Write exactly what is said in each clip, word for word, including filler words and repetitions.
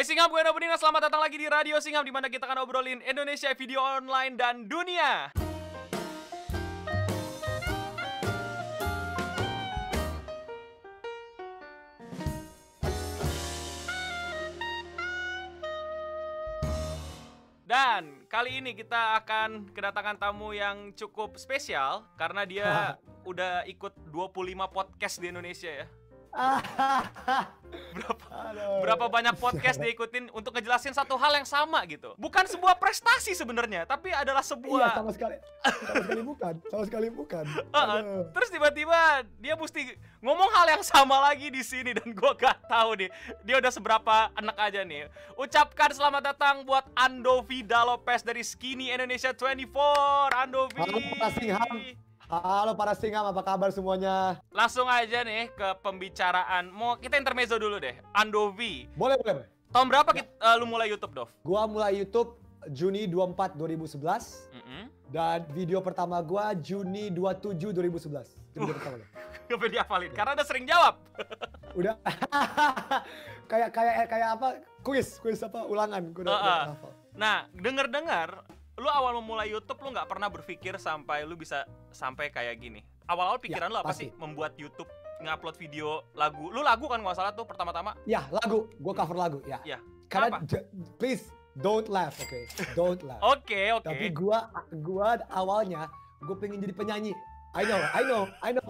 Hai Singham, gue Eno Benina, selamat datang lagi di Radio Singham, di mana kita akan obrolin Indonesia, video online, dan dunia. Dan kali ini kita akan kedatangan tamu yang cukup spesial karena dia udah ikut dua puluh lima podcast di Indonesia ya. Berapa, berapa banyak podcast diikutin untuk ngejelasin satu hal yang sama gitu. Bukan sebuah prestasi sebenarnya, tapi adalah sebuah... Iya, sama sekali, sama sekali bukan, sama sekali bukan. Uh, terus tiba-tiba dia mesti ngomong hal yang sama lagi di sini dan gua gak tahu nih dia udah seberapa enak aja nih. Ucapkan selamat datang buat Andovi Dalopez dari Skinny Indonesia dua puluh empat. Andovi. Halo para Singham. Halo para Singham, apa kabar semuanya? Langsung aja nih ke pembicaraan. Mau kita intermezzo dulu deh. Andovi. Boleh, boleh. Tahun berapa ya. kita, uh, lu mulai YouTube, Dov? Gua mulai YouTube Juni dua puluh empat dua ribu sebelas. Mm-hmm. Dan video pertama gua Juni dua puluh tujuh dua ribu sebelas. Itu video uh, pertama. Gak boleh dihafalin, karena udah sering jawab. Udah. kayak kayak kayak apa? Kuis, kuis apa? Ulangan. Gua udah, uh, uh. udah hafal. Nah, denger-dengar lu awal memulai YouTube lu nggak pernah berpikir sampai lu bisa sampai kayak gini. Awal-awal pikiran ya, lu apa pasti. sih membuat YouTube, ngupload video lagu? Lu lagu kan nggak salah tuh pertama-tama? Ya, lagu. Gua cover lagu, ya. Ya. Karena j- please don't laugh, oke? Okay? Don't laugh. Oke, okay, oke. Okay. Tapi gua gua awalnya gua pengen jadi penyanyi. I know, I know, I know.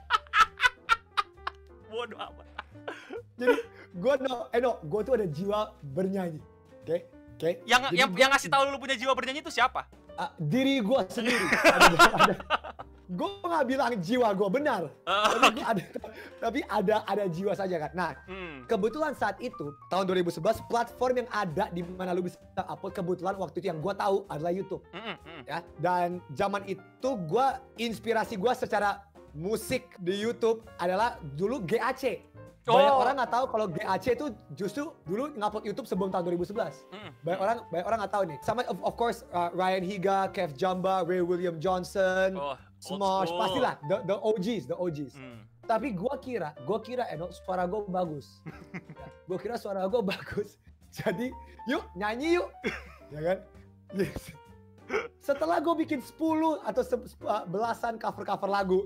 Bodoh amat. Jadi gua no, I know, gua tuh ada jiwa bernyanyi. Oke? Okay? Oke. Okay? Yang Jadi yang gua, yang ngasih tahu lu punya jiwa bernyanyi itu siapa? Uh, diri gua sendiri. ada, ada. Gua nggak bilang jiwa gua benar. Uh, tapi gua ada tapi ada ada jiwa saja kan. Nah, hmm. kebetulan saat itu tahun dua ribu sebelas platform yang ada di mana lu bisa upload kebetulan waktu itu yang gua tahu adalah YouTube. Mm -hmm. Ya. Dan zaman itu gua inspirasi gua secara musik di YouTube adalah dulu G A C. Banyak oh. orang nggak tahu kalau G A C itu justru dulu ngupload YouTube sebelum tahun dua ribu sebelas. Mm. Banyak orang banyak orang nggak tahu nih. Sama of, of course uh, Ryan Higa, Kev Jamba, Ray William Johnson, oh, Smosh, pastilah the the O Gs, the O Gs. Mm. Tapi gua kira, gua kira Eno suara gua bagus. Ya, gua kira suara gua bagus. Jadi, yuk nyanyi yuk. Ya kan? Yes. Setelah gua bikin sepuluh atau belasan cover-cover lagu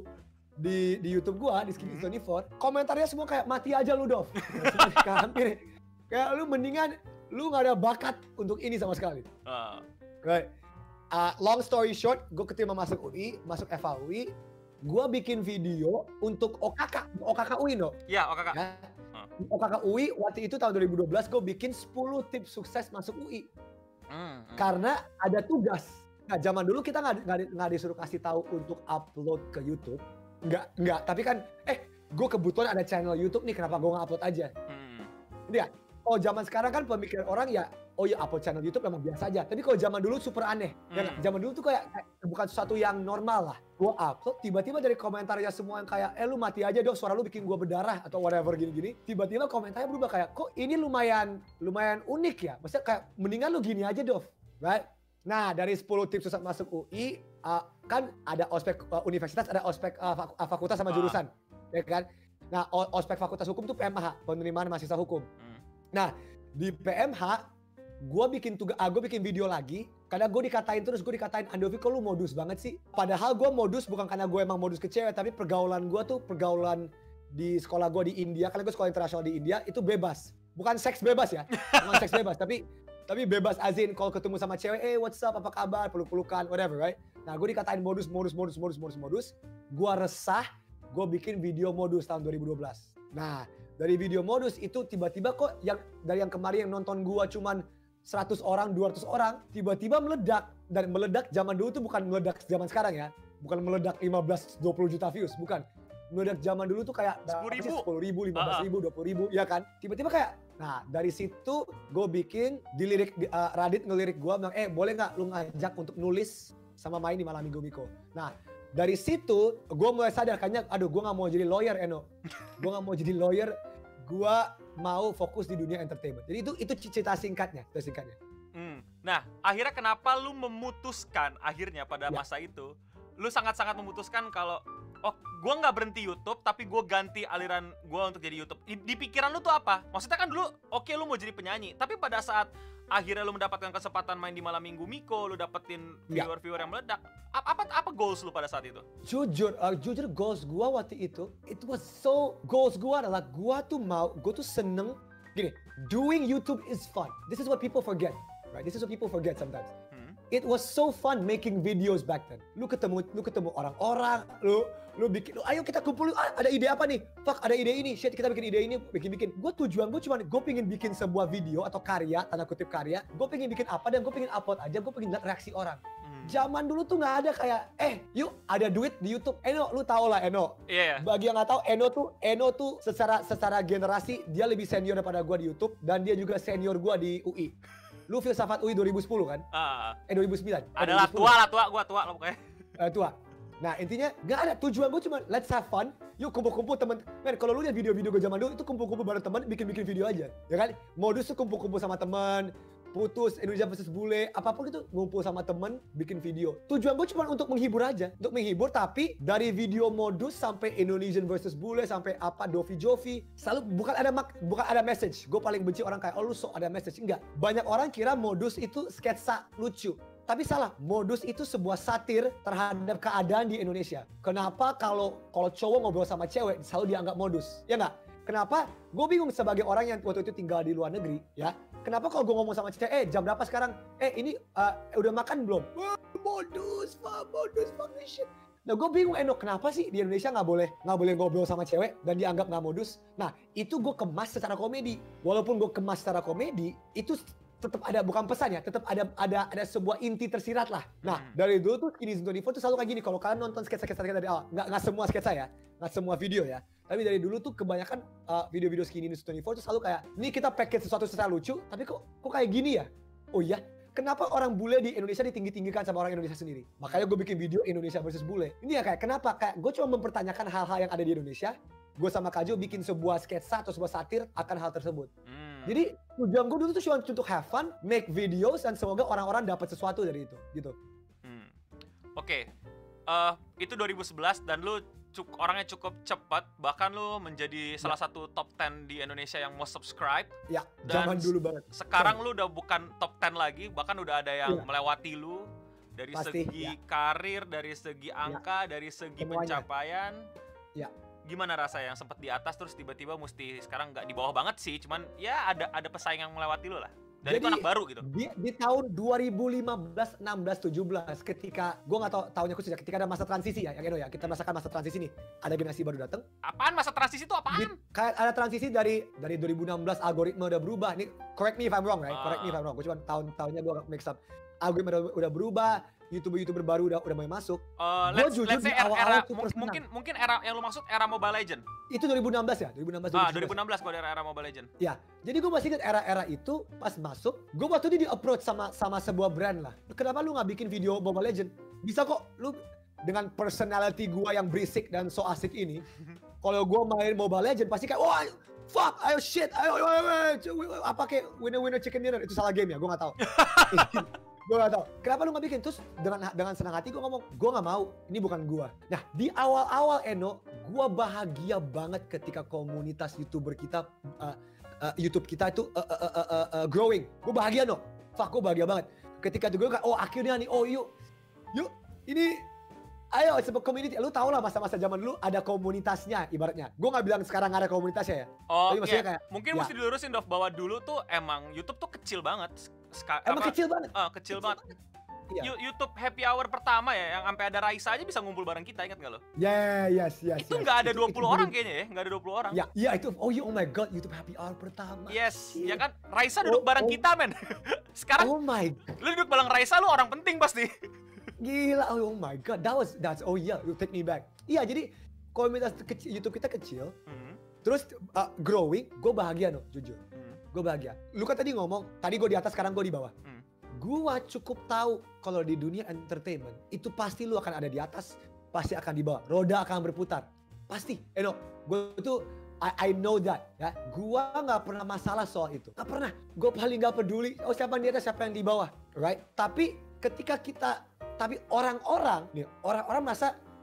di di YouTube gua di Skinny dua puluh empat, komentarnya semua kayak mati aja lu, Dov. Hampir kayak lu mendingan lu nggak ada bakat untuk ini sama sekali. Uh. Right. Uh, long story short, gua keterima masuk U I, masuk F A U I, gua bikin video untuk O K K, O K K U I, no? Iya, O K K. Ya. Uh. O K K U I waktu itu tahun dua ribu dua belas gua bikin sepuluh tips sukses masuk U I. Mm, mm. Karena ada tugas. Nah, zaman dulu kita nggak nggak disuruh kasih tahu untuk upload ke YouTube. Enggak, enggak. Tapi kan, eh, gue kebetulan ada channel YouTube nih, kenapa gue nggak upload aja? Hmm. Dia, oh zaman sekarang kan pemikiran orang ya, oh ya upload channel YouTube memang biasa aja. Tapi kalau zaman dulu super aneh. Hmm. Ya, zaman dulu tuh kayak, kayak bukan sesuatu yang normal lah. Gue upload, tiba-tiba dari komentarnya semua yang kayak, eh lu mati aja dong, suara lu bikin gue berdarah atau whatever gini-gini. Tiba-tiba komentarnya berubah kayak, kok ini lumayan, lumayan unik ya? Maksudnya kayak, mendingan lu gini aja, Dov. Right? Nah, dari sepuluh tips sukses masuk U I, uh, kan ada ospek uh, universitas, ada ospek uh, fakultas sama jurusan, ah. ya kan? Nah, ospek fakultas hukum tuh P M H, penerimaan mahasiswa hukum. Hmm. Nah, di P M H, gue bikin tugas, uh, gue bikin video lagi, karena gue dikatain terus, gue dikatain, Andovi kok lu modus banget sih? Padahal gue modus bukan karena gue emang modus ke cewek, tapi pergaulan gue tuh pergaulan di sekolah gue di India, karena gue sekolah internasional di India, itu bebas. Bukan seks bebas ya, bukan seks bebas, tapi Tapi bebas azin kalau ketemu sama cewek, eh what's up, apa kabar, peluk-pelukan, whatever, right? Nah, gue dikatain modus, modus, modus, modus, modus, modus. Gue resah, gue bikin video modus tahun dua ribu dua belas. Nah, dari video modus itu tiba-tiba kok yang dari yang kemarin yang nonton gue cuman seratus orang, dua ratus orang, tiba-tiba meledak. Dan meledak zaman dulu tuh bukan meledak zaman sekarang ya. Bukan meledak lima belas, dua puluh juta views, bukan. Meledak zaman dulu tuh kayak sepuluh ribu, lima belas ribu, dua puluh ribu, ya kan? Tiba-tiba kayak, nah dari situ gue bikin di lirik di, uh, Radit ngelirik gue bilang, eh boleh nggak lu ngajak untuk nulis sama main di Malam Minggu Miko. Nah dari situ gue mulai sadar kayaknya, aduh gue nggak mau jadi lawyer Eno, gue nggak mau jadi lawyer, gue mau fokus di dunia entertainment. Jadi itu itu cerita singkatnya, cerita singkatnya. Hmm. Nah akhirnya kenapa lu memutuskan akhirnya pada ya. masa itu, lu sangat-sangat memutuskan kalau oh gue nggak berhenti YouTube tapi gue ganti aliran gue untuk jadi YouTube. Di, di pikiran lu tuh apa? Maksudnya kan dulu oke okay, lu mau jadi penyanyi, tapi pada saat akhirnya lu mendapatkan kesempatan main di Malam Minggu Miko, lu dapetin viewer-viewer yang meledak, apa apa, apa goals lu pada saat itu? Jujur, uh, jujur goals gue waktu itu, it was so, goals gue adalah gue tuh mau, gue tuh seneng, gini, doing YouTube is fun. This is what people forget, right? This is what people forget sometimes. It was so fun making videos back then. Lu ketemu, lu ketemu orang-orang, lu, lu bikin, lu, ayo kita kumpul, ah, ada ide apa nih? Fuck, ada ide ini, shit kita bikin ide ini, bikin-bikin. Gue tujuan gue cuma, gue pengen bikin sebuah video atau karya, tanda kutip karya. Gue pengen bikin apa dan gue pengen upload aja, gue pengen lihat reaksi orang. Hmm. Zaman dulu tuh nggak ada kayak, eh, yuk ada duit di YouTube. Eno, lu tau lah Eno. Iya. Yeah. Bagi yang nggak tahu, Eno tuh, Eno tuh secara secara generasi dia lebih senior daripada gue di YouTube dan dia juga senior gue di U I. Lu filsafat U I dua ribu sepuluh kan? Uh, eh dua ribu sembilan. Adalah tua lah, tua, gua tua lah pokoknya. Uh, tua. Nah intinya gak ada, tujuan gue cuma let's have fun. Yuk kumpul-kumpul temen. Men kalau lu lihat video-video gue zaman dulu itu kumpul-kumpul bareng temen, bikin-bikin video aja. Ya kan? Modus tuh kumpul-kumpul sama temen, putus, Indonesia versus bule, apapun itu ngumpul sama temen, bikin video. Tujuan gue cuma untuk menghibur aja. Untuk menghibur, tapi dari video modus sampai Indonesian versus bule, sampai apa, Dovi Jovi, selalu bukan ada mak, bukan ada message. Gue paling benci orang kayak, oh lu sok ada message. Enggak. Banyak orang kira modus itu sketsa lucu. Tapi salah, modus itu sebuah satir terhadap keadaan di Indonesia. Kenapa kalau kalau cowok ngobrol sama cewek selalu dianggap modus? Ya nggak? Kenapa? Gue bingung sebagai orang yang waktu itu tinggal di luar negeri, ya. Kenapa kalau gue ngomong sama cewek, eh jam berapa sekarang? Eh ini uh, udah makan belum? Wah, modus, fuck, modus, fuck this shit. Nah gue bingung, Eno, kenapa sih di Indonesia nggak boleh nggak boleh ngobrol sama cewek dan dianggap nggak modus? Nah itu gue kemas secara komedi. Walaupun gue kemas secara komedi, itu tetap ada, bukan pesan ya, tetap ada ada ada sebuah inti tersirat lah. Nah hmm. dari dulu tuh Skinny dua puluh empat tuh selalu kayak gini. Kalau kalian nonton sketsa-sketsa dari awal, nggak nggak semua sketsa ya, nggak semua video ya. Tapi dari dulu tuh kebanyakan uh, video-video Skinny dua puluh empat tuh selalu kayak, ini kita package sesuatu secara lucu, tapi kok kok kayak gini ya? Oh iya, kenapa orang bule di Indonesia ditinggi-tinggikan sama orang Indonesia sendiri? Makanya gue bikin video Indonesia versus bule. Ini ya kayak, kenapa? Kayak gue cuma mempertanyakan hal-hal yang ada di Indonesia. Gue sama Kajo bikin sebuah sketsa atau sebuah satir akan hal tersebut. Hmm. Jadi tujuan gue dulu tuh cuma untuk have fun, make videos, dan semoga orang-orang dapat sesuatu dari itu, gitu. Hmm. Oke, okay. uh, itu dua ribu sebelas dan lu cuk, orangnya cukup cepat, bahkan lu menjadi ya. salah satu top sepuluh di Indonesia yang most subscribe. Ya, zaman dulu banget. Sekarang lu udah bukan top sepuluh lagi, bahkan udah ada yang ya. melewati lu dari Pasti, segi ya. karir, dari segi angka, ya. dari segi Semuanya. pencapaian. Ya. Gimana rasa yang sempat di atas terus tiba-tiba mesti sekarang nggak di bawah banget sih, cuman ya ada ada pesaing yang melewati lo lah. Dan Jadi, itu anak baru gitu. Di, di tahun dua ribu lima belas, enam belas, tujuh belas ketika gue nggak tahu tahunnya khusus ya, ketika ada masa transisi ya, yang Eno ya, kita merasakan masa transisi nih. Ada generasi baru datang. Apaan masa transisi itu apaan? Di, kayak ada transisi dari dari dua ribu enam belas, algoritma udah berubah. Nih, correct me if I'm wrong, right? Uh. Correct me if I'm wrong. Gue cuma tahun-tahunnya gue mix up. Algoritma udah, udah berubah. YouTuber-YouTuber baru udah udah mulai masuk. Uh, let's, jujur let's say era, era mungkin mungkin era yang lu maksud era Mobile Legend. Itu dua ribu enam belas ya? dua ribu enam belas. Ah, dua ribu enam belas kalau era era Mobile Legend. Ya. Jadi gue masih ingat era-era itu pas masuk, gue waktu itu di-approach sama sama sebuah brand lah. Kenapa lu nggak bikin video Mobile Legend? Bisa kok lu dengan personality gue yang berisik dan so asik ini. Kalau gue main Mobile Legend pasti kayak, wah, fuck, ayo shit, ayo, ayo, ayo, ayo apa kayak winner-winner chicken dinner. Itu salah game ya, gue nggak tahu. Gue gak tau, kenapa lu gak bikin? Terus dengan dengan senang hati gue ngomong, gue gak mau, ini bukan gue. Nah di awal-awal Eno, gue bahagia banget ketika komunitas YouTuber kita, uh, uh, YouTube kita itu uh, uh, uh, uh, uh, growing. Gue bahagia no, fuck gue bahagia banget. Ketika itu gue kayak, oh akhirnya nih, oh yuk, yuk, ini, ayo sebuah community. Lu tau lah masa-masa zaman dulu ada komunitasnya ibaratnya. Gue gak bilang sekarang gak ada komunitasnya ya. Oh iya, kayak, mungkin ya. mesti dilurusin Dov, bahwa dulu tuh emang YouTube tuh kecil banget. Ska, Emang apa, kecil banget. Uh, kecil, kecil banget. banget. Iya. YouTube Happy Hour pertama ya, yang sampai ada Raisa aja bisa ngumpul bareng kita, ingat nggak lo? Yeah, yes, yes. Itu nggak yes. ada dua puluh itu, orang itu, kayaknya ya, nggak ada dua puluh orang. Ya, iya itu. Oh, yeah, oh my god, YouTube Happy Hour pertama. Yes, yeah. ya kan? Raisa duduk oh, bareng oh. kita, men. Sekarang, oh my. Lu duduk bareng Raisa, lu orang penting pasti. Gila, oh my god, that was, that's, oh yeah, you take me back. Iya, jadi komunitas kecil, YouTube kita kecil, hmm. terus uh, growing, gue bahagia no, jujur. Hmm. Gue bahagia. Lu kan tadi ngomong, tadi gue di atas, sekarang gue di bawah. Hmm. Gua cukup tahu kalau di dunia entertainment itu pasti lu akan ada di atas, pasti akan di bawah. Roda akan berputar. Pasti. Eh no, gue tuh I, I know that ya. Gua nggak pernah masalah soal itu. Nggak pernah. Gue paling nggak peduli oh siapa yang di atas, siapa yang di bawah. Right? Tapi ketika kita tapi orang-orang nih, orang-orang merasa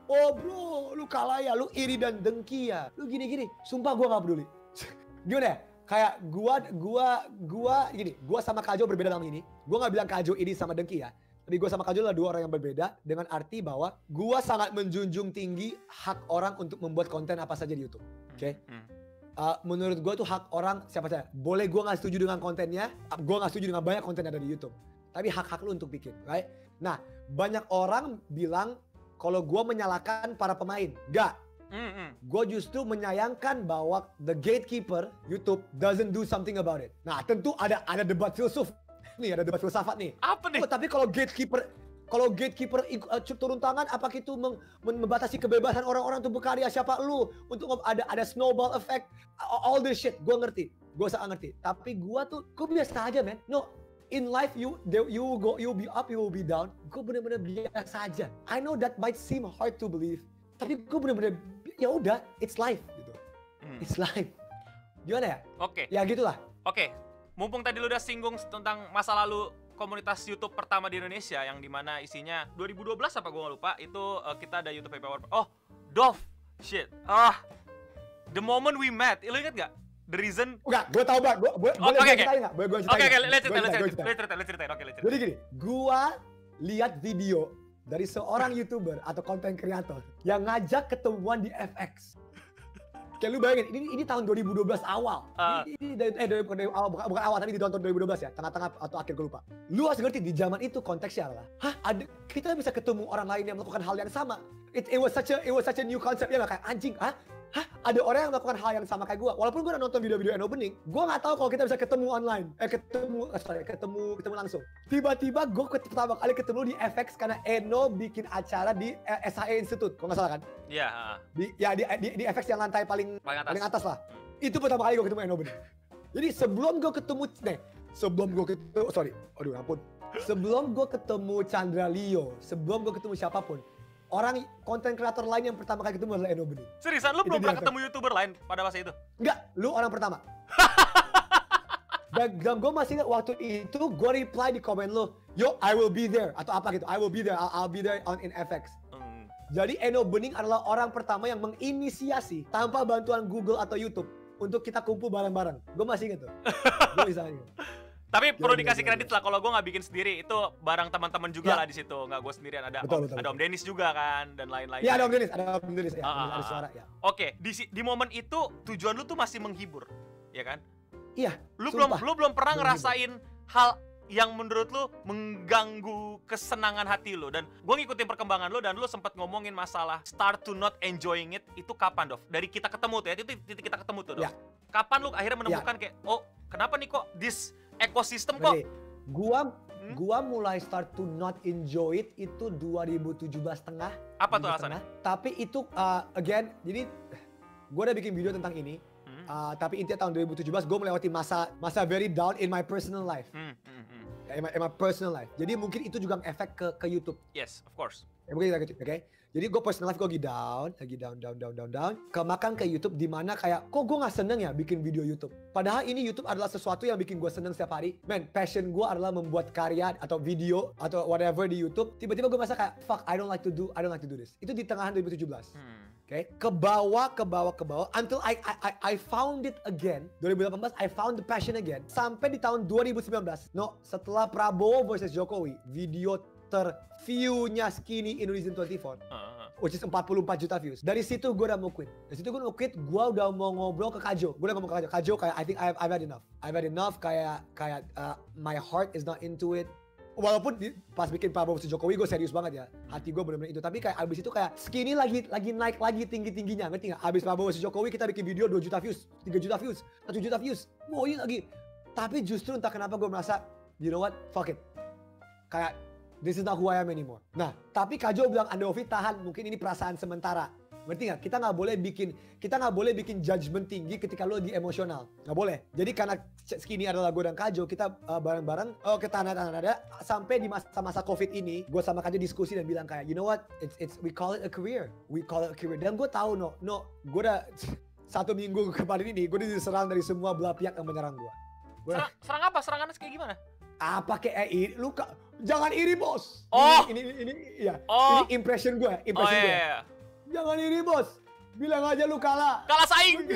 oh bro, lu kalah ya, lu iri dan dengki ya, lu gini-gini. Sumpah gue gak peduli. Gimana ya? Kayak gua, gua, gua gini, gua sama Kajo berbeda dalam ini. Gua gak bilang Kajo iri sama dengki ya. Tapi gue sama Kajo adalah dua orang yang berbeda dengan arti bahwa gue sangat menjunjung tinggi hak orang untuk membuat konten apa saja di YouTube. Oke? Okay? Hmm. Uh, menurut gue tuh hak orang siapa saja. Boleh gue nggak setuju dengan kontennya, gue nggak setuju dengan banyak konten yang ada di YouTube. Tapi hak-hak lu untuk bikin, right? Nah, banyak orang bilang kalau gue menyalahkan para pemain. Gak. Mm-hmm. Gue justru menyayangkan bahwa the gatekeeper YouTube doesn't do something about it. Nah, tentu ada ada debat filsuf. Nih ada debat filsafat nih. Apa nih? Oh, tapi kalau gatekeeper kalau gatekeeper uh, turun tangan, apakah itu mem membatasi kebebasan orang-orang untuk berkarya? Siapa lu untuk ada ada snowball effect, all this shit? Gue ngerti, gue sangat ngerti. Tapi gue tuh, gue biasa aja, man. No, in life you you will go, you will be up, you will be down. Gue bener-bener biasa aja. I know that might seem hard to believe, tapi gue bener-bener ya udah, it's life gitu. Hmm. It's life. Gimana ya? Oke. Okay. Ya gitulah. Oke. Okay. Mumpung tadi lu udah singgung tentang masa lalu komunitas YouTube pertama di Indonesia yang dimana isinya dua ribu dua belas apa gue gak lupa itu uh, kita ada YouTube Power. Oh, Dove, shit, ah, the moment we met, lu inget gak? The reason? Enggak, gue tau banget, gue boleh gue ceritain nggak? Boleh gue ceritain? Oke, oke, let's cerita, let's cerita, let's cerita, let's cerita, oke, let's cerita. Jadi gini, gue lihat video dari seorang YouTuber atau content creator yang ngajak ketemuan di F X. Kayak lu bayangin, ini ini tahun dua ribu dua belas awal. Uh. Ini, ini eh dari, dari awal bukan, bukan awal tapi di tahun dua ribu dua belas ya, tengah-tengah atau akhir gue lupa. Lu harus ngerti di zaman itu konteksnya adalah, hah, ada kita bisa ketemu orang lain yang melakukan hal yang sama. It, it was such a it was such a new concept ya, kayak anjing, hah? Hah? Ada orang yang melakukan hal yang sama kayak gue. Walaupun gue udah nonton video-video Eno Bening, gue nggak tahu kalau kita bisa ketemu online, eh ketemu, sorry, ketemu ketemu langsung. Tiba-tiba gue pertama kali ketemu di F X karena Eno bikin acara di S H E Institute, kalau nggak salah kan? Iya. Yeah. Di ya di, di di F X yang lantai paling paling atas, paling atas lah. Hmm. Itu pertama kali gue ketemu Eno Bening. Jadi sebelum gue ketemu, nih, sebelum gue ketemu, sorry, aduh ampun. Sebelum gue ketemu Chandra Leo, sebelum gue ketemu siapapun, orang konten kreator lain yang pertama kali ketemu adalah Eno Bening. Seriusan, lu belum pernah ketemu YouTuber lain pada masa itu? Enggak, lu orang pertama. Dan, dan gue masih ingat waktu itu gue reply di komen lu, yo I will be there atau apa gitu, I will be there, I'll, I'll be there on in F X. Hmm. Jadi Eno Bening adalah orang pertama yang menginisiasi tanpa bantuan Google atau YouTube untuk kita kumpul bareng-bareng. Gue masih ingat tuh. Gue bisa ingat. Tapi perlu dikasih kredit lah kalau gue nggak bikin sendiri, itu barang teman-teman juga ya. Lah di situ, nggak gue sendirian, ada betul, om, betul, ada Om Dennis juga kan dan lain-lain. Iya ada Om Dennis, ada Om Dennis ya, ah, ada suara ya. Oke, di di momen itu tujuan lu tuh masih menghibur, ya kan? Iya. Lu sumpah. belum lu belum pernah menghibur. Ngerasain hal yang menurut lu mengganggu kesenangan hati lu, dan gue ngikutin perkembangan lu dan lu sempat ngomongin masalah start to not enjoying it, itu kapan Dov? Dari kita ketemu tuh ya, itu titik kita ketemu tuh Dov. Ya. Kapan lu akhirnya menemukan ya. Kayak oh kenapa nih kok this ekosistem kok? Gua hmm? gua mulai start to not enjoy it itu dua ribu tujuh belas tengah. Apa tuh alasannya? Tapi itu uh, again, jadi gua udah bikin video tentang ini. Hmm? Uh, tapi intinya tahun dua ribu tujuh belas gua melewati masa masa very down in my personal life. Hmm, hmm, hmm. In, my, in my personal life. Jadi mungkin itu juga efek ke ke YouTube. Yes, of course. Ya, mungkin gitu, oke? Okay? Jadi gue personal life gue lagi down, lagi down, down, down, down, down. Kemakan ke YouTube di mana kayak, kok gue gak seneng ya bikin video YouTube. Padahal ini YouTube adalah sesuatu yang bikin gue seneng setiap hari. Man, passion gue adalah membuat karya atau video atau whatever di YouTube. Tiba-tiba gue merasa kayak, fuck, I don't like to do, I don't like to do this. Itu di tengahan dua ribu tujuh belas. Hmm. Oke, okay? Ke bawah, ke bawah, ke bawah. Until I, I, I, I found it again. dua ribu delapan belas, I found the passion again. Sampai di tahun dua ribu sembilan belas. No, setelah Prabowo versus Jokowi, video ter-view-nya Skinny Indonesian dua puluh empat. Uh. Which is empat puluh empat juta views. Dari situ gue udah mau quit. Dari situ gue mau quit, gue udah mau ngobrol ke Kajo. Gue udah ngomong ke Kajo. Kajo kayak, I think I've, I've had enough. I've had enough, kayak, kayak uh, my heart is not into it. Walaupun di, pas bikin Prabowo versus Jokowi gue serius banget ya. Hati gue bener-bener itu. Tapi kayak abis itu kayak Skinny lagi lagi naik lagi tinggi-tingginya. Ngerti gak? Abis Prabowo versus Jokowi kita bikin video dua juta views, tiga juta views, satu juta views. Mau ini lagi. Tapi justru entah kenapa gue merasa, you know what? Fuck it. Kayak this is not who I am anymore. Nah, tapi Kajo bilang, Andovi tahan, mungkin ini perasaan sementara. Ngerti nggak? Kita nggak boleh bikin, kita nggak boleh bikin judgement tinggi ketika lo lagi emosional. Nggak boleh. Jadi karena Skinny adalah gue dan Kajo, kita uh, bareng-bareng, oh kita tahan-tahan ada. Sampai di masa-masa COVID ini, gue sama Kajo diskusi dan bilang kayak, you know what? It's, it's we call it a career. We call it a career. Dan gue tahu no, no, gue udah satu minggu kemarin ini, gue diserang dari semua belah pihak yang menyerang gue. Gua, serang, serang apa? Serangannya kayak gimana? Apa kayak eh, lu jangan iri bos. Oh ini ini ini, ini ya. Oh. Ini impression gue, impression oh, gue. Iya, iya. Jangan iri bos. Bilang aja lu kalah. Kalah saing.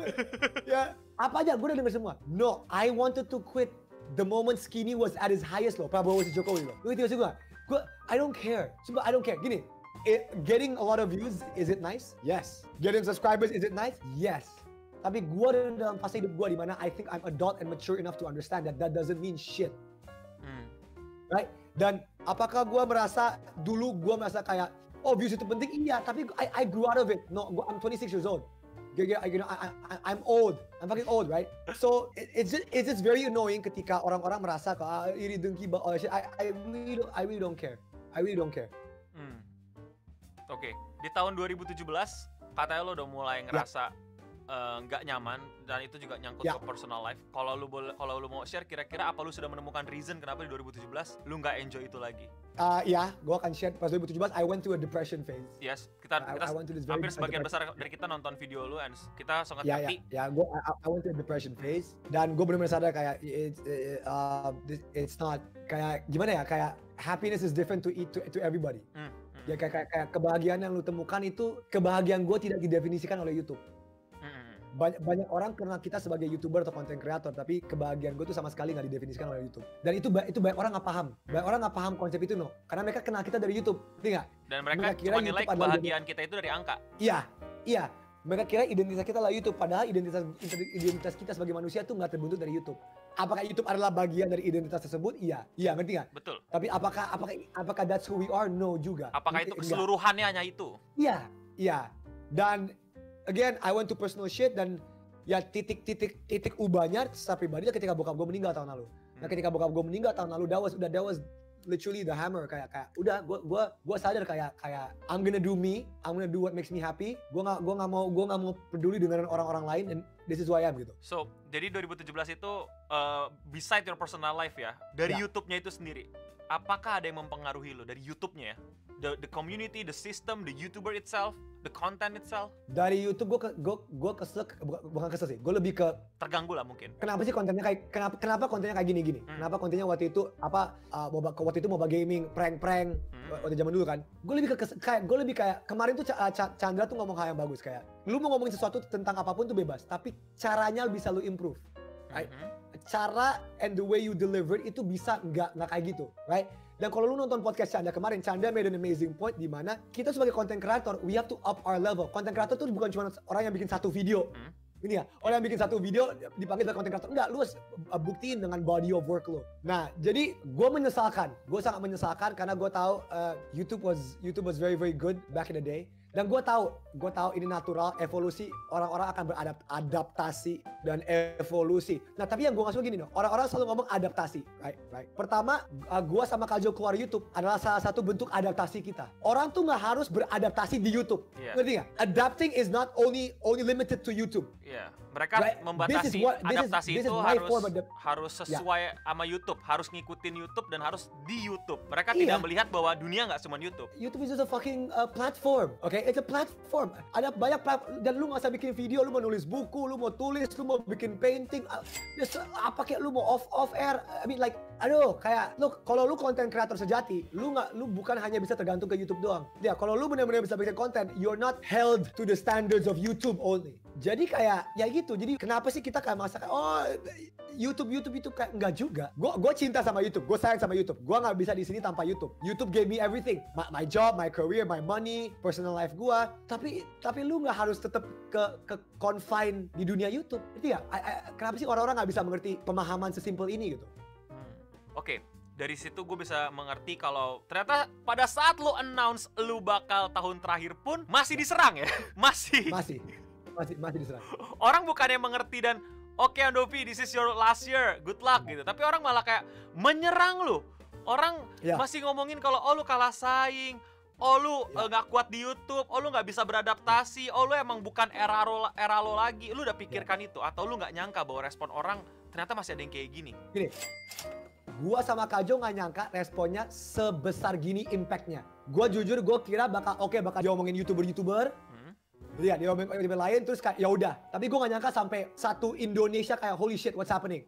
Ya, apa aja gue udah denger semua. No, I wanted to quit the moment Skinny was at his highest loh. Prabowo versus Jokowi loh. Lu ngerti gue? Gue, I don't care. Sumpah, I don't care. Gini, it, getting a lot of views, is it nice? Yes. Getting subscribers, is it nice? Yes. Tapi gue dalam fase hidup gue dimana I think I'm adult and mature enough to understand that that doesn't mean shit. Hmm. Right? Dan apakah gue merasa, dulu gue merasa kayak, oh views itu penting? Iya, tapi I, I grew out of it. No, gua, I'm twenty-six years old. You know, I, I, I'm old. I'm fucking old, right? So it, it's just it's just very annoying ketika orang-orang merasa kok ah, iri dengki all that shit. I I really don't, I really don't care. I really don't care. Hmm. Oke, okay. Di tahun dua ribu tujuh belas katanya lo udah mulai ngerasa nggak yeah. uh, nyaman dan itu juga nyangkut yeah. ke personal life. Kalau lu boleh, kalau lu mau share kira-kira apa lu sudah menemukan reason kenapa di dua ribu tujuh belas lu nggak enjoy itu lagi? Uh, ya, gue akan share pas dua ribu tujuh belas I went through a depression phase. Yes, kita, kita I, I hampir sebagian besar dari kita nonton video lu and kita sangat yeah, ngerti. Ya, yeah, yeah. gue I, I went through a depression phase dan gue benar-benar sadar kayak it's it, uh, it's not kayak gimana ya, kayak happiness is different to to, to everybody. Hmm, hmm. Ya kayak, kayak kayak kebahagiaan yang lu temukan itu kebahagiaan gue tidak didefinisikan oleh YouTube. Banyak, banyak orang kenal kita sebagai YouTuber atau content creator, tapi kebahagiaan gue tuh sama sekali nggak didefinisikan oleh YouTube. Dan itu itu banyak orang nggak paham. Banyak orang nggak paham konsep itu no, karena mereka kenal kita dari YouTube, ngerti nggak? Dan mereka, mereka kira cuma nilai kebahagiaan kita itu dari angka. Iya, iya. Mereka kira identitas kita adalah YouTube, padahal identitas identitas kita sebagai manusia tuh nggak terbentuk dari YouTube. Apakah YouTube adalah bagian dari identitas tersebut? Iya, iya, ngerti nggak? Betul. Tapi apakah apakah apakah that's who we are? No juga. Apakah itu keseluruhannya hanya itu? Iya, iya. Dan again, I went to personal shit dan ya titik-titik titik ubahnya secara pribadi ketika bokap gue meninggal tahun lalu. Nah ketika bokap gue meninggal tahun lalu, that was udah that was literally the hammer kayak kayak udah gue gue gue sadar kayak kayak I'm gonna do me, I'm gonna do what makes me happy. Gue nggak gue nggak mau gue nggak mau peduli dengan orang-orang lain and this is who I am gitu. So jadi dua ribu tujuh belas itu uh, beside your personal life ya, dari ya. YouTube-nya itu sendiri, apakah ada yang mempengaruhi lo dari YouTube-nya ya? The, the community, the system, the YouTuber itself, the content itself. Dari YouTube gue gue gue kesel, bukan kesel sih, gue lebih ke terganggu lah mungkin. Kenapa sih kontennya kayak kenapa kenapa kontennya kayak gini-gini? Hmm. Kenapa kontennya waktu itu apa uh, moba, waktu itu mobile gaming, prank-prank hmm. waktu zaman dulu kan? Gue lebih ke kayak gue lebih kayak kemarin tuh uh, Chandra tuh ngomong hal yang bagus kayak lu mau ngomongin sesuatu tentang apapun tuh bebas, tapi caranya bisa lu improve. Right? Hmm. Cara and the way you deliver itu bisa nggak nggak kayak gitu, right? Dan kalau lu nonton podcast Chandra kemarin, Chandra made an amazing point di mana kita sebagai content creator, we have to up our level. Content creator tuh bukan cuma orang yang bikin satu video. Hmm. Ini ya, orang yang bikin satu video dipanggil sebagai content creator. Enggak, lu harus buktiin dengan body of work lu. Nah, jadi gue menyesalkan. Gue sangat menyesalkan karena gue tahu uh, YouTube was YouTube was very very good back in the day. Dan gue tahu, gue tahu ini natural, evolusi, orang-orang akan beradaptasi dan evolusi. Nah tapi yang gue nggak suka gini dong, orang-orang selalu ngomong adaptasi, right? Right. Pertama, uh, gue sama Kak Jo keluar YouTube adalah salah satu bentuk adaptasi kita. Orang tuh nggak harus beradaptasi di YouTube, yeah. Ngerti nggak? Adapting is not only only limited to YouTube. Iya, yeah. Mereka right? Membatasi what, adaptasi is, itu harus harus sesuai yeah. sama YouTube, harus ngikutin YouTube dan harus di YouTube. Mereka yeah. tidak melihat bahwa dunia nggak cuma YouTube. YouTube is just a fucking uh, platform, oke? Okay? It's a platform. Ada banyak platform dan lu nggak usah bikin video, lu mau nulis buku, lu mau tulis, lu mau bikin painting, uh, just, apa kayak lu mau off off air. I mean like, aduh, kayak lu kalau lu content creator sejati, lu nggak, lu bukan hanya bisa tergantung ke YouTube doang. Ya, kalau lu benar-benar bisa bikin konten, you're not held to the standards of YouTube only. Jadi kayak ya gitu. Jadi kenapa sih kita kayak merasa kayak oh YouTube YouTube itu kayak enggak juga. Gue gue cinta sama YouTube, gue sayang sama YouTube. Gue nggak bisa di sini tanpa YouTube. YouTube gave me everything, my, my job, my career, my money, personal life gue. Tapi tapi lu nggak harus tetap ke ke confine di dunia YouTube. Itu ya. I, I, kenapa sih orang-orang nggak bisa mengerti pemahaman sesimpel ini gitu? Hmm. Oke. Okay. Dari situ gue bisa mengerti kalau ternyata pada saat lu announce lu bakal tahun terakhir pun masih diserang ya. Masih. Masih. Masih masih diserang. Orang bukannya mengerti dan oke okay, Andovi, this is your last year, good luck gitu. Tapi orang malah kayak menyerang lu. Orang ya. Masih ngomongin kalau oh lu kalah saing, oh lu ya. uh, gak kuat di YouTube, oh lu gak bisa beradaptasi, oh lu emang bukan era lo, era lo lagi. Lu udah pikirkan ya. Itu atau lu gak nyangka bahwa respon orang ternyata masih ada yang kayak gini. Gini, gua sama Kajo gak nyangka responnya sebesar gini impactnya. Gua jujur gua kira bakal oke okay, bakal diomongin YouTuber-YouTuber. Lihat dia ngomongin lain terus kayak ya udah, tapi gue gak nyangka sampai satu Indonesia kayak holy shit what's happening ya.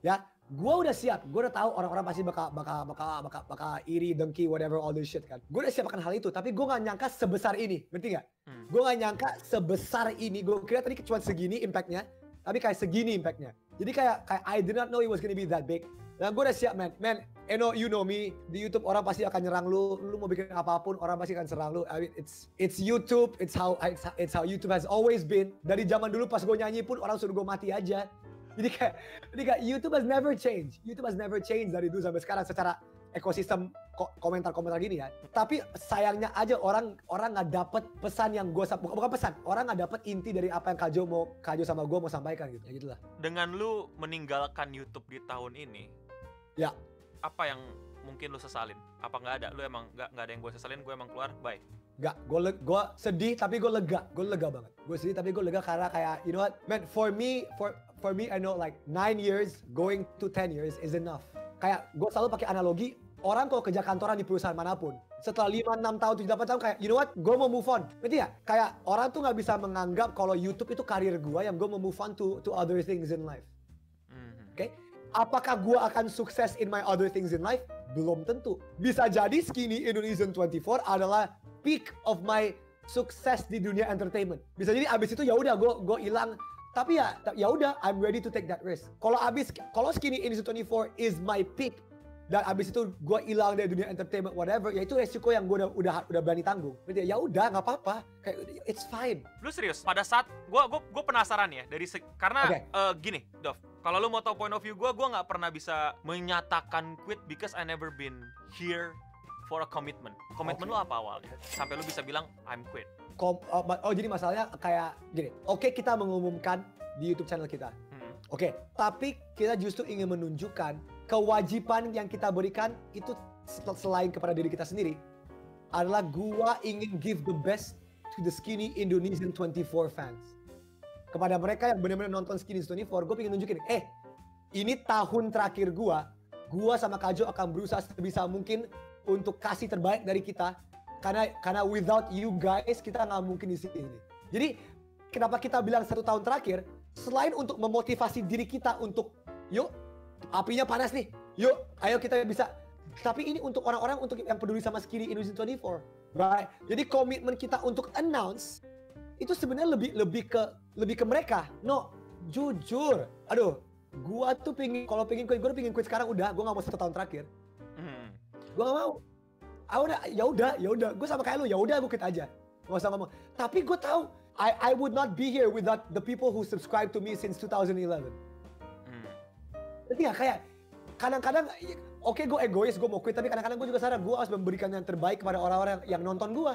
Gua udah siap, gua udah tahu orang-orang pasti bakal bakal bakal bakal bakal iri, dengki, whatever all this shit kan. Gua udah siap akan hal itu, tapi gua nggak nyangka sebesar ini, ngerti nggak? Hmm. Gua nggak nyangka sebesar ini. Gua kira tadi cuma segini impactnya, tapi kayak segini impactnya. Jadi kayak kayak I did not know it was gonna be that big. Nah, gue udah siap, man. Man, you know, you know me. Di YouTube orang pasti akan nyerang lu. Lu mau bikin apapun, orang pasti akan serang lu. I mean, it's it's YouTube. It's how it's, it's how YouTube has always been. Dari zaman dulu pas gue nyanyi pun orang suruh gue mati aja. Jadi kayak, jadi kayak YouTube has never changed. YouTube has never changed dari dulu sampai sekarang secara ekosistem komentar-komentar gini ya. Tapi sayangnya aja orang orang nggak dapet pesan yang gue bukan, bukan pesan. Orang nggak dapet inti dari apa yang Kajo mau Kajo sama gue mau sampaikan gitu. Ya gitulah. Dengan lu meninggalkan YouTube di tahun ini. Ya. Apa yang mungkin lu sesalin? Apa nggak ada? Lu emang nggak nggak ada yang gue sesalin? Gue emang keluar, bye. Nggak, gue gue sedih tapi gue lega, gue lega banget. Gue sedih tapi gue lega karena kayak you know what, man, for me, for for me I know like nine years going to ten years is enough. Kayak gue selalu pakai analogi, orang kalau kerja kantoran di perusahaan manapun, setelah lima, enam tahun, tujuh, delapan tahun kayak you know what, gue mau move on. Ngerti ya? Kayak orang tuh nggak bisa menganggap kalau YouTube itu karir gue yang gue mau move on to to other things in life. Mm-hmm. Oke? Okay? Apakah gue akan sukses in my other things in life? Belum tentu. Bisa jadi Skinny Indonesian twenty-four adalah peak of my sukses di dunia entertainment. Bisa jadi abis itu ya udah gue gue hilang. Tapi ya ya udah, I'm ready to take that risk. Kalau abis kalau Skinny Indonesian twenty-four is my peak dan abis itu gue hilang dari dunia entertainment whatever, ya itu resiko yang gue udah udah udah berani tanggung. Ya udah nggak apa-apa, kayak it's fine. Lu serius? Pada saat gue gue gue penasaran ya dari karena okay. uh, gini, Dov. Kalau lu mau tahu point of view gue, gue nggak pernah bisa menyatakan quit because I never been here for a commitment. Komitmen okay. lu apa awalnya? Sampai lu bisa bilang I'm quit. Kom, oh, oh jadi masalahnya kayak gini. Oke okay, kita mengumumkan di YouTube channel kita. Hmm. Oke, okay, tapi kita justru ingin menunjukkan kewajiban yang kita berikan itu selain kepada diri kita sendiri adalah gua ingin give the best to the Skinny Indonesian twenty-four fans. Kepada mereka yang benar-benar nonton Skinny twenty-four, gue pengen nunjukin, eh, ini tahun terakhir gue, gue sama Kajo akan berusaha sebisa mungkin untuk kasih terbaik dari kita, karena karena without you guys kita nggak mungkin di sini. Jadi kenapa kita bilang satu tahun terakhir, selain untuk memotivasi diri kita untuk, yuk, apinya panas nih, yuk, ayo kita bisa. Tapi ini untuk orang-orang untuk yang peduli sama Skinny Indonesian twenty-four, right? Jadi komitmen kita untuk announce itu sebenarnya lebih lebih ke lebih ke mereka. No, jujur. Aduh, gua tuh pingin kalau pingin quit, gua pingin quit sekarang udah. Gua nggak mau satu tahun terakhir. Hmm. Gua nggak mau. Ah udah, ya udah, ya udah. Gua sama kayak lu, ya udah gua quit aja. Gak usah ngomong. Tapi gua tahu, I I would not be here without the people who subscribe to me since two thousand eleven. Hmm. Jadi ya kayak kadang-kadang, oke okay, gue egois, gue mau quit, tapi kadang-kadang gue juga sadar gue harus memberikan yang terbaik kepada orang-orang yang nonton gue.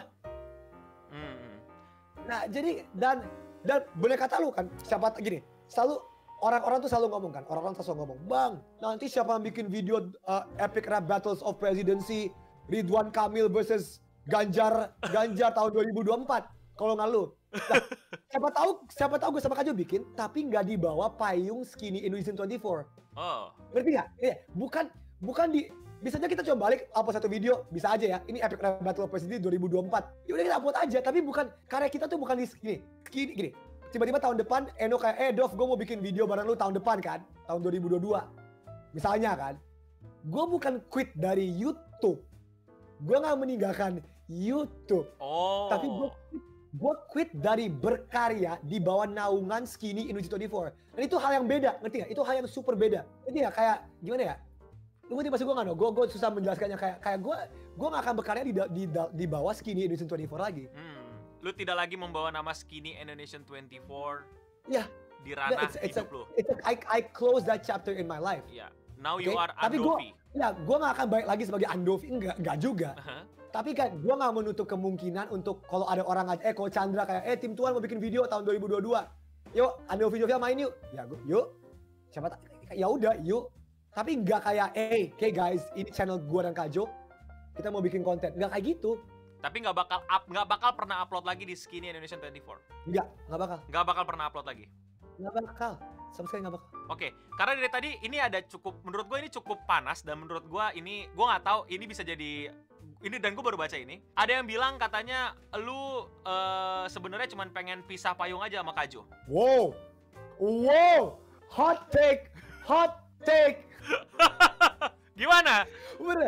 Hmm. Nah jadi dan dan boleh kata lu kan, siapa gini, selalu orang-orang tuh selalu ngomong kan, orang-orang selalu ngomong, bang, nanti siapa yang bikin video uh, epic rap battles of presidency, Ridwan Kamil versus Ganjar Ganjar tahun dua ribu dua puluh empat, kalau nggak lu. Nah, siapa tahu siapa tahu gue sama Kajo bikin, tapi nggak di bawah payung Skinny Indonesian twenty-four. Oh. Ngerti nggak? Iya, bukan bukan di bisa aja kita coba balik upload satu video, bisa aja ya. Ini epic rap battle of presidency dua ribu dua puluh empat. Ya udah kita upload aja, tapi bukan karya kita tuh bukan di gini. Gini, gini. Tiba-tiba tahun depan Eno kayak, "Eh, Dov, gue mau bikin video bareng lu tahun depan kan, tahun dua ribu dua puluh dua." Misalnya kan. Gue bukan quit dari YouTube. Gue nggak meninggalkan YouTube. Oh. Tapi gue gue quit dari berkarya di bawah naungan Skinny Indonesian twenty-four. Dan itu hal yang beda, ngerti nggak? Itu hal yang super beda. Ngerti nggak? Kayak gimana ya? Lu ngerti maksud gue nggak? Gue gue susah menjelaskannya, kayak kayak gue gue nggak akan berkarya di di di bawah Skinny Indonesian twenty-four lagi. Hmm. Lu tidak lagi membawa nama Skinny Indonesian twenty-four. Ya. Di ranah yeah, it's, it's hidup a, lu. It's a, I I close that chapter in my life. Ya. Yeah. Now you okay? Are Andovi. Tapi gue, ya gue nggak akan balik lagi sebagai Andovi, enggak, enggak juga. Uh-huh. Tapi kan gue gak menutup kemungkinan untuk kalau ada orang aja, eh kalau Chandra kayak, eh tim Tuan mau bikin video tahun dua ribu dua puluh dua. Yuk, ada video-video main yuk. Ya gue, yuk. Siapa tak, ya udah, yuk. Tapi gak kayak, eh, hey guys, ini channel gue dan Kajo. Kita mau bikin konten. Gak kayak gitu. Tapi gak bakal up, gak bakal pernah upload lagi di Skinny Indonesian twenty-four? Enggak, gak bakal. Gak bakal pernah upload lagi? Gak bakal. Sama sekali gak bakal. Oke, karena dari tadi ini ada cukup, menurut gue ini cukup panas. Dan menurut gue ini, gue gak tahu ini bisa jadi... Ini dan gue baru baca ini. Ada yang bilang katanya lu uh, sebenarnya cuma pengen pisah payung aja sama Kajo. Wow, wow, hot take, hot take. Gimana? Bener.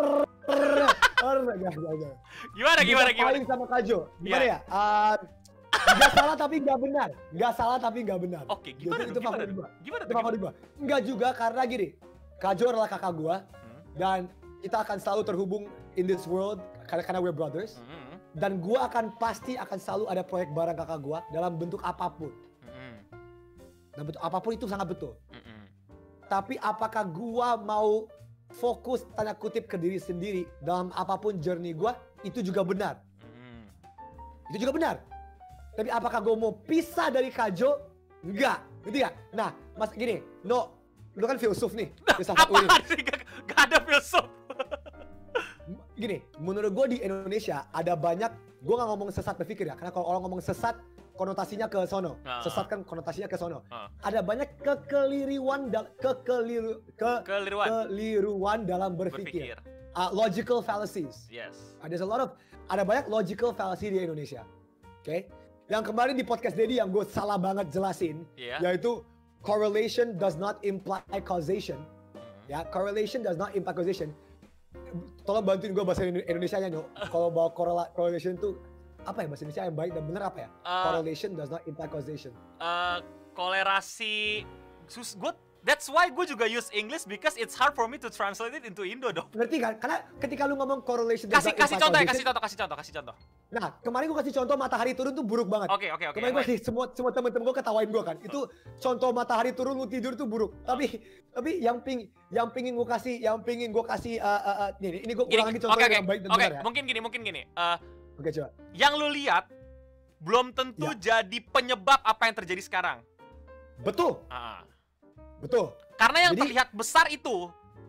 Gimana gimana gimana? Paling sama Kajo. Gimana Iya. ya? Uh, Gak salah tapi gak benar. Gak salah tapi gak benar. Oke, gimana Itu tuh? Gimana favorit tuh? gua. Gimana Itu tuh? favorit gua. Enggak juga karena gini. Kajo adalah kakak gua Hmm. dan kita akan selalu terhubung in this world karena karena we're brothers. Hmm. Dan gua akan pasti akan selalu ada proyek bareng kakak gua dalam bentuk apapun. Hmm. Dalam bentuk apapun itu sangat betul. Hmm. Tapi apakah gua mau fokus tanda kutip ke diri sendiri dalam apapun journey gua, itu juga benar. Hmm. Itu juga benar. Tapi apakah gue mau pisah dari Kajo? Enggak, gitu ya. Nah, mas gini, no, lu kan filsuf nih, filsafat U I. Apaan sih? Gak, gak ada filsuf. Gini, menurut gue di Indonesia ada banyak, gue nggak ngomong sesat berpikir ya, karena kalau orang ngomong sesat konotasinya ke sono, Uh. sesat kan konotasinya ke sono. Uh. Ada banyak kekeliruan, da- kekeliru, ke, Keliruan. keliruan dalam berpikir. Berpikir. Uh, logical fallacies. Yes. Uh, there's a lot of, ada banyak logical fallacy di Indonesia. Oke? Okay? Yang kemarin di podcast Dedi yang gue salah banget jelasin, Yeah. yaitu correlation does not imply causation. Hmm. Ya, correlation does not imply causation. Tolong bantuin gue bahasa Indonesia-nya, Nyok. Kalau bawa correla- correlation tuh apa ya bahasa Indonesia yang baik dan benar apa ya? Uh, correlation does not imply causation. Uh, kolerasi sus gue that's why gue juga use English because it's hard for me to translate it into Indo dong. Ngerti kan? Karena ketika lu ngomong correlation does Kasih not kasih imply contoh ya, causation- kasih contoh, kasih contoh, kasih contoh. Nah, kemarin gue kasih contoh matahari turun tuh buruk banget. Oke, oke, oke. Kemarin gue kasih semua semua temen-temen gue ketawain gue kan. Itu contoh matahari turun lu tidur tuh buruk. Tapi tapi yang ping yang pingin gue kasih yang pingin gue kasih uh, uh, uh, ini ini gue Gini, ulang lagi oke, contohnya oke, yang baik dan oke, benar ya. mungkin gini, mungkin gini. Uh, Oke, coba. yang lu lihat belum tentu jadi penyebab apa yang terjadi sekarang. Betul. Ah. Betul. Karena yang Jadi- terlihat besar itu,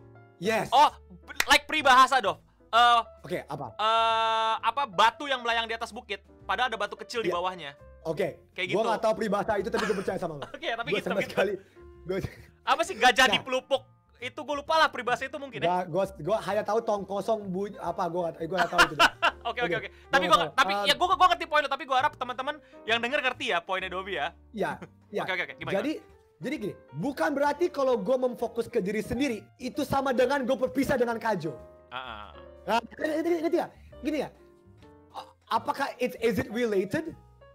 Yes. oh, like peribahasa Dov. Eh, Oke, apa? eh, apa batu yang melayang di atas bukit, padahal ada batu kecil di Iya. bawahnya. Oke. Kayak Gue gitu. nggak tahu peribahasa itu tapi gue percaya sama lo. Oke, tapi Gue gitu, sama gitu. sekali. Gue Apa sih gajah Nah. di pelupuk? Itu gue lupa lah peribahasa itu mungkin ya. gue gue hanya tahu tong kosong bunyi apa gue nggak gue nggak tahu itu. deh. Oke, oke, Oke, oke. Tapi gua gua nggak tapi tahu. ya gua gua ngerti poin lo, tapi gua harap teman-teman yang denger ngerti ya poinnya Dovi ya. Iya. Iya. Oke, oke, oke. Gimana? Jadi jadi gini, bukan berarti kalau gue memfokus ke diri sendiri itu sama dengan gue berpisah dengan Kajo. Ah, ah. Nah, ngerti ngerti nggak? Gini ya, a- apakah it's is it related?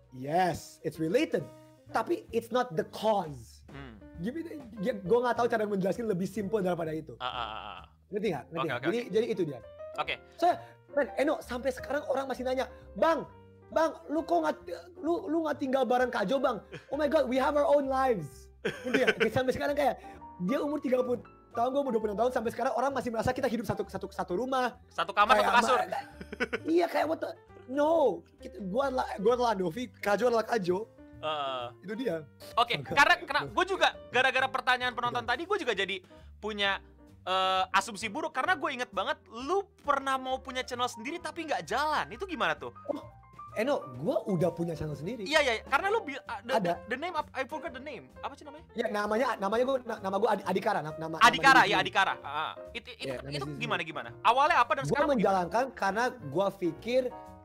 Yes, it's related. Tapi it's not the cause. Hmm. Gimana? Ya, gue nggak tahu cara menjelaskan lebih simpel daripada itu. Ah, ah, ah, ah. Ngerti nggak? Ngerti Oke, nggak? oke, jadi jadi itu dia. Oke. Saya, men, Eno sampai sekarang orang masih nanya, bang, bang, lu kok nggak lu lu nggak tinggal bareng Kajo bang? Oh my god, we have our own lives. Ngerti nggak? Kayak sampai sekarang kayak dia umur tiga puluh tahun, gue umur dua puluh enam tahun, sampai sekarang orang masih merasa kita hidup satu satu satu rumah. Satu kamar, Kayak satu kasur. ma- iya kayak what the, no, kita, gua adalah gua adalah Novi, Kajo adalah Kajo. Ah. Itu dia. Oke, Agak- karena karena gue juga gara-gara pertanyaan penonton tadi gue juga jadi punya eh, asumsi buruk karena gue inget banget lu pernah mau punya channel sendiri tapi nggak jalan. Itu gimana tuh? Eno, gua udah punya channel sendiri. Iya, iya, karena lu bil- uh, the, Ada. the, the name I forgot the name. Apa sih namanya? Ya namanya namanya gua na- nama gua Adi- Adikara, na- nama Adikara, nama ya di sini. Adikara. Ah, itu itu, Iya, nama itu di sini. gimana gimana? Awalnya apa dan Gua sekarang gimana? menjalankan karena gua pikir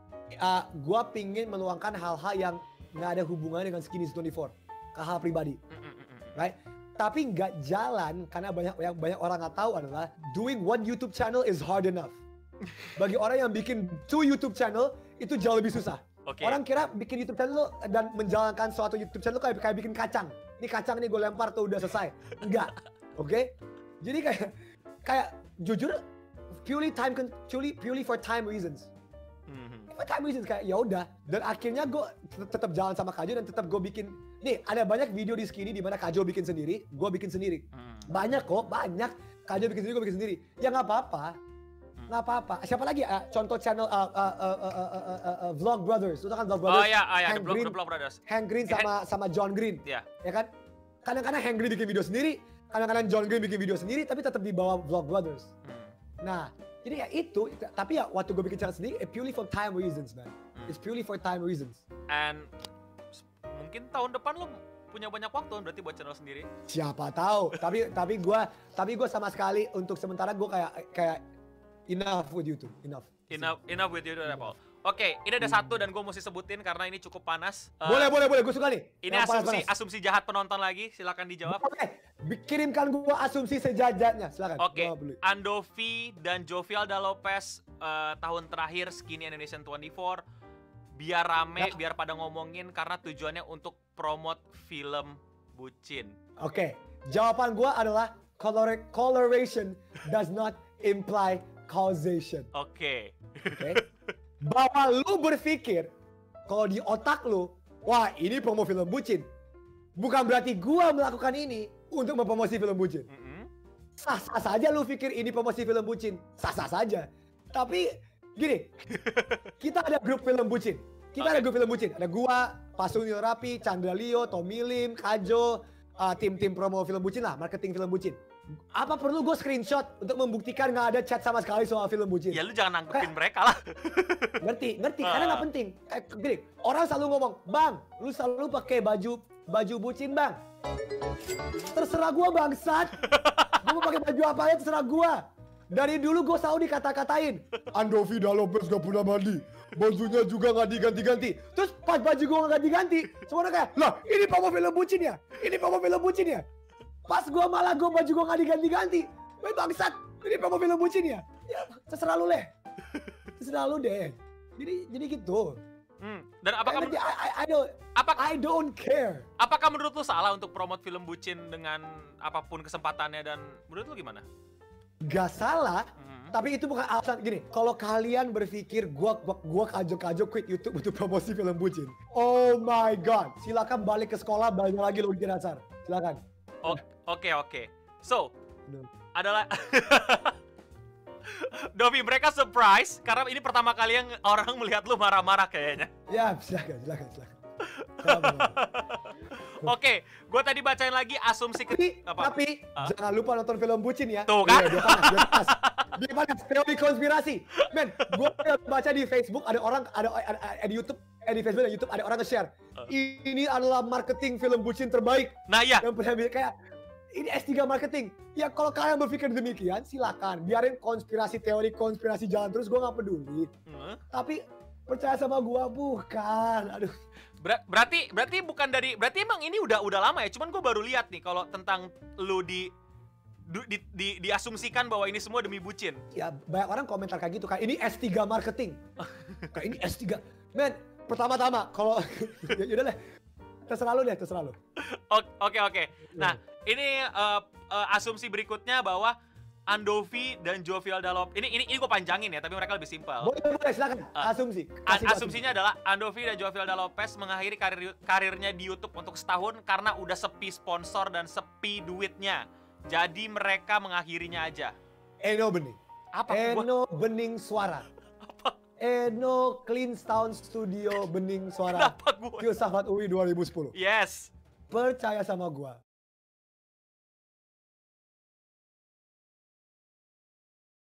uh, gua pingin meluangkan hal-hal yang nggak ada hubungannya dengan Skinny dua puluh empat ke hal pribadi, Mm, mm, mm, mm. right? Tapi nggak jalan karena banyak yang banyak orang nggak tahu adalah doing one YouTube channel is hard enough. Bagi orang yang bikin two YouTube channel itu jauh lebih susah. Oke. Orang kira bikin YouTube channel dan menjalankan suatu YouTube channel kayak kayak bikin kacang. Ini kacang nih gue lempar tuh udah selesai. Enggak, oke? Jadi kayak kayak jujur purely time con- purely purely for time reasons. Mhm. For time reasons kayak ya udah. Dan akhirnya gue tetap jalan sama Kajo dan tetap gue bikin. Nih ada banyak video di Skinny di mana Kajo bikin sendiri, gue bikin sendiri. Hmm. Banyak kok, banyak. Kajo bikin sendiri, gue bikin sendiri. Ya nggak apa-apa. Nggak apa-apa. Siapa lagi uh, contoh channel uh, uh, uh, uh, uh, uh, uh, uh, Vlog Brothers. Lu tahu kan Vlog Brothers? Oh ya, ah, ya, The Hank Blog, Green, The Blog Brothers. Hank Green sama sama John Green. Ya. Ya kan? Kadang-kadang Hank Green bikin video sendiri, kadang-kadang John Green bikin video sendiri, tapi tetap di bawah Vlog Brothers. Hmm. Nah, jadi ya itu, tapi ya waktu gue bikin channel sendiri, it purely for time reasons, man. Hmm. It's purely for time reasons. And s- mungkin tahun depan lu punya banyak waktu berarti buat channel sendiri. Siapa tahu? tapi tapi gue tapi gue sama sekali untuk sementara gue kayak kayak enough with YouTube, enough. Enough, enough with you, Paul. Oke, ini ada satu dan gue mesti sebutin karena ini cukup panas. Uh, boleh, boleh, boleh. Gue suka nih. Ini yang asumsi panas, panas. asumsi jahat penonton lagi. Silakan dijawab. Oke, kirimkan gue asumsi sejajarnya. Silakan. Oke, Andovi dan Jovialda Lopez uh, tahun terakhir Skinny Indonesian dua puluh empat biar rame, ya. biar pada ngomongin karena tujuannya untuk promote film bucin. Oke, jawaban gue adalah color coloration does not imply causation. Oke. Oke. Bahwa lu berpikir kalau di otak lu, wah ini promo film bucin, bukan berarti gua melakukan ini untuk mempromosi film bucin. Mm-hmm. Sah-sah saja lu pikir ini promosi film bucin, sah-sah saja. Tapi gini, kita ada grup film bucin, kita okay. ada grup film bucin, ada gua, Pasunil Rapi, Chandra Leo, Tommy Lim, Kajo, uh, tim-tim promo film bucin lah, marketing film bucin. Apa perlu gue screenshot untuk membuktikan nggak ada chat sama sekali soal film bucin? Ya lu jangan nanggepin mereka lah. Ngerti, ngerti, karena nggak penting. Eh, gini, orang selalu ngomong, bang, lu selalu pakai baju baju bucin bang. Terserah gue bangsat. Gue mau pakai baju apa aja terserah gue. Dari dulu gue selalu dikata-katain, Andovi Lopez gak pernah mandi, bajunya juga nggak diganti-ganti. Terus pas baju gue nggak ganti-ganti, semuanya kayak, lah ini promo film bucin ya? Ini promo film bucin ya? Pas gue malah gue baju gue gak diganti-ganti. Weh bangsat, ini promo film bucin ya? Ya terserah lu leh. Terserah lu deh. Jadi jadi gitu. Hmm. Dan apakah I, I, I don't apakah, I don't care. Apakah menurut lu salah untuk promote film bucin dengan apapun kesempatannya dan menurut lu gimana? Gak salah, hmm. tapi itu bukan alasan. Gini, kalau kalian berpikir gua gua, gua kajo-kajo quit YouTube untuk promosi film bucin, oh my god, silakan balik ke sekolah, balik lagi lu bikin dasar. Silakan. Oke oke oke. So no. adalah Dovi, mereka surprise karena ini pertama kali yang orang melihat lu marah-marah kayaknya. Ya silakan silakan silakan. Oke, gue tadi bacain lagi asumsi ke... Tapi, apa? tapi uh? jangan lupa nonton film bucin ya. Tuh kan? Iya, dia panas, dia panas. Dia panas, teori konspirasi. Men, gue baca di Facebook, ada orang, ada, ada, ada di YouTube, eh di Facebook dan YouTube, ada orang nge-share. Uh. Ini adalah marketing film bucin terbaik. Nah ya. Yang pernah kayak, ini S tiga marketing. Ya kalau kalian berpikir demikian, silakan. Biarin konspirasi, teori konspirasi jalan terus, gue gak peduli. Uh. Tapi, percaya sama gue, bukan. Aduh. Ber berarti berarti bukan dari berarti emang ini udah udah lama ya, cuman gue baru lihat nih kalau tentang lu di, di, di, di diasumsikan bahwa ini semua demi bucin. Ya banyak orang komentar kayak gitu kan, ini S tiga marketing. Kayak ini S tiga. Men, pertama-tama kalau ya udah deh. Terserah lu deh, terserah lu. Oke oke oke. Nah, ini uh, uh, asumsi berikutnya bahwa Andovi dan Jovialda Lopez. Ini ini ini gue panjangin ya, tapi mereka lebih simpel. Boleh boleh silakan. Uh, Asumsi. As asumsinya adalah Andovi dan Jovialda Lopez mengakhiri karir karirnya di YouTube untuk setahun karena udah sepi sponsor dan sepi duitnya. Jadi mereka mengakhirinya aja. Eno Bening. Apa? Eno gua... Bening Suara. Apa? Eno Clean Sound Studio Bening Suara. Kenapa gue? Filsafat U I dua ribu sepuluh. Yes. Percaya sama gua.